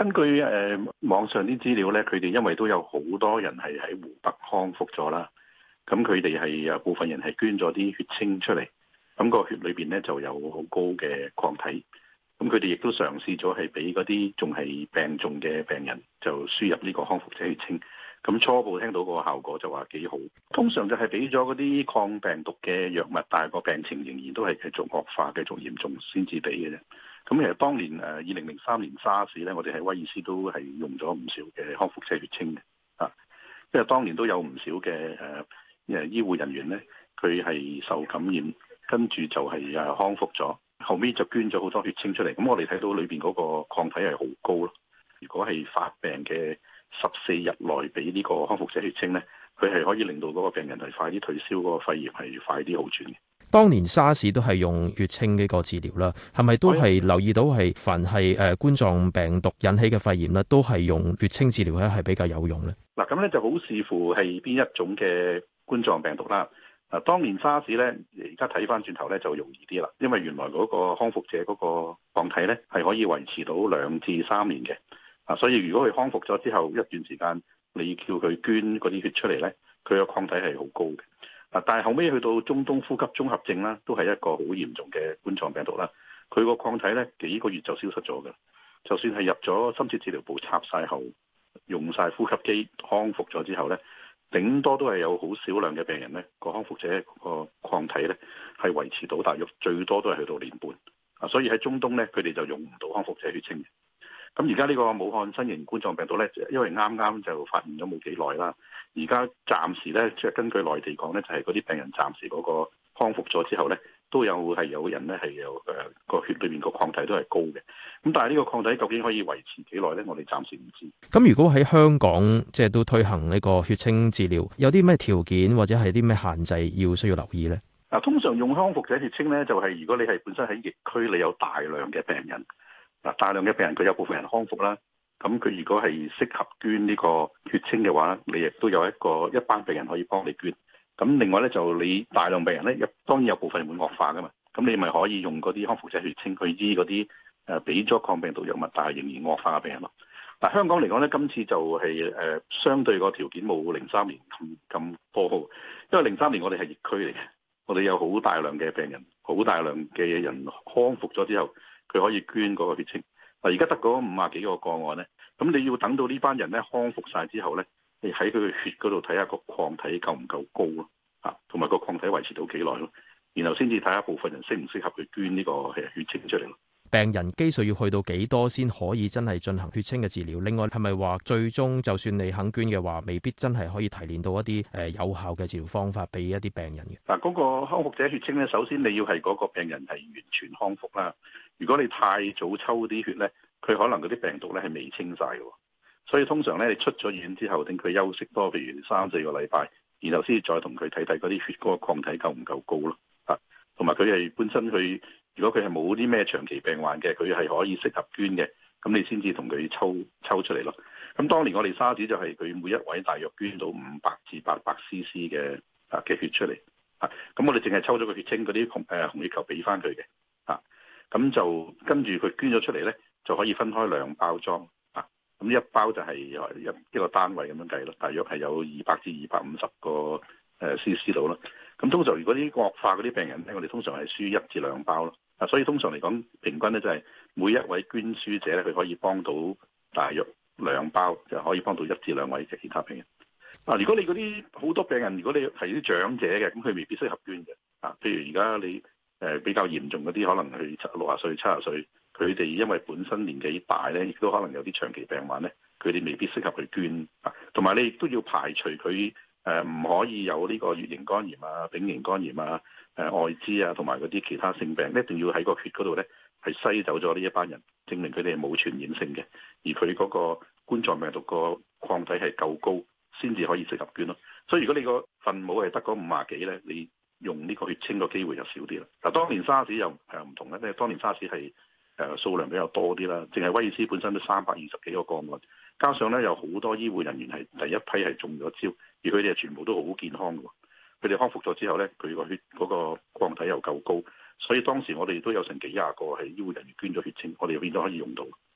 根據網上啲資料咧，佢哋因為都有好多人係喺湖北康復咗啦，咁佢哋係有部分人係捐咗啲血清出嚟，咁個血裏邊咧就有好高嘅抗體，咁佢哋亦都嘗試咗係俾嗰啲仲係病重嘅病人就輸入呢個康復者血清，咁初步聽到個效果就話幾好。通常就係俾咗嗰啲抗病毒嘅藥物，但係個病情仍然都係繼續惡化、繼續嚴重先至俾嘅啫。咁其實當年2003年沙士咧，我哋喺威爾斯都係用咗唔少嘅康復者血清嘅，因為當年都有唔少嘅醫護人員咧，佢係受感染，跟住就係康復咗，後尾就捐咗好多血清出嚟。咁我哋睇到裏邊嗰個抗體係好高咯。如果係發病嘅14日內俾呢個康復者血清咧，佢係可以令到嗰個病人係快啲退燒，嗰個肺炎係快啲好轉嘅。 當年沙士都係用血清呢個治療啦，係咪都係留意到係凡係冠狀病毒引起嘅肺炎咧，都係用血清治療咧係比較有用咧？ 嗱，咁咧就好視乎係邊一種嘅冠狀病毒啦。當年沙士咧，而家睇翻轉頭咧就容易啲啦，因為原來嗰個康復者嗰個抗體咧係可以維持到2至3年嘅。所以如果佢康復咗之後一段時間，你叫佢捐嗰啲血出嚟咧，佢個抗體係好高嘅。但係後尾去到中東呼吸綜合症啦，都係一個好嚴重嘅冠狀病毒啦。佢個抗體咧幾個月就消失咗嘅。就算係入咗深切治療部插晒喉，用晒呼吸機康復咗之後咧，頂多都係有好少量嘅病人咧，個康復者個抗體咧係維持到大約最多都係去到1年半。所以喺中東咧，佢哋就用唔到康復者血清嘅。咁而家呢個武漢新型冠狀病毒咧，因為啱啱就發現咗冇幾耐啦，而家暫時咧，即係根據內地講咧，就係嗰啲病人暫時嗰個康復咗之後咧，都有人咧係有個血裏面個抗體都係高嘅。咁但係呢個抗體究竟可以維持幾耐咧？我哋暫時唔知。 咁如果喺香港即係都推行呢個血清治療，有啲咩條件或者係啲咩限制需要留意咧？ 嗱，通常用康復者血清咧，就係如果你係本身喺疫區，你有大量嘅病人。大量嘅病人佢有部分人康復啦，咁佢如果係適合捐呢個血清嘅話，你亦都有一班病人可以幫你捐。咁另外咧就你大量病人咧，當然有部分人會惡化噶嘛，咁你咪可以用嗰啲康復者血清去醫嗰啲俾咗抗病毒藥物但係仍然惡化嘅病人咯。嗱，香港嚟講咧，今次就係相對個條件冇03年咁多好，因為03年我哋係疫區嚟嘅，我哋有好大量嘅病人，好大量嘅人康復咗之後，佢可以捐嗰個血清。嗱，而家得嗰50幾個個案咧，咁你要等到呢班人咧康復晒之後咧，你喺佢嘅血嗰度睇下個抗體夠唔夠高咯，同埋個抗體維持到幾耐咯，然後先至睇下部分人適唔適合去捐呢個血清出嚟咯。 病人基數要去到幾多先可以真係進行血清嘅治療？另外係咪話最終就算你肯捐嘅話，未必真係可以提煉到一啲有效嘅治療方法俾一啲病人嘅？ 嗱，嗰個康復者血清咧，首先你要係嗰個病人係完全康復啦。如果你太早抽啲血咧，佢可能嗰啲病毒咧係未清晒嘅，所以通常咧你出咗院之後，等佢休息多，譬如3、4個禮拜，然後先再同佢睇睇嗰啲血嗰個抗體夠唔夠高咯。同埋佢係本身佢。如果佢係冇啲咩長期病患嘅，佢係可以適合捐嘅，咁你先至同佢抽出嚟咯。咁當年我哋沙士就係佢每一位大約捐到500至800 cc 嘅血出嚟，咁我哋淨係抽咗個血清嗰啲紅血球俾翻佢嘅，咁就跟住佢捐咗出嚟咧，就可以分開2包裝，咁一包就係一個單位咁樣計咯，大約係有200至250個cc 度咯。咁通常如果啲惡化嗰啲病人咧，我哋通常係輸1至2包咯。所以通常嚟講，平均咧就係每一位捐輸者咧，佢可以幫到大約2包，就可以幫到1至2位嘅其他病人。如果你嗰啲好多病人，如果你係啲長者嘅，咁佢未必適合捐嘅。譬如而家你比較嚴重嗰啲，可能佢60歲、70歲，佢哋因為本身年紀大咧，亦都可能有啲長期病患咧，佢哋未必適合去捐。同埋你亦都要排除佢唔可以有呢個乙型肝炎啊、丙型肝炎啊、艾滋啊，同埋嗰啲其他性病，一定要喺個血嗰度咧係篩走咗呢一班人，證明佢哋係冇傳染性嘅，而佢嗰個冠狀病毒個抗體係夠高，先至可以適合捐咯。所以如果你個分母係得嗰50幾咧，你用呢個血清個機會就少啲啦。嗱，當年沙士又唔同咧，因為當年沙士係數量比較多啲啦，淨係威爾斯本身都320幾個個案，加上咧有好多醫護人員係第一批係中咗招，而佢哋係全部都好健康嘅。佢哋康復咗之後咧，佢個血嗰個抗體又夠高，所以當時我哋都有成幾廿個係醫護人員捐咗血清，我哋變咗可以用到。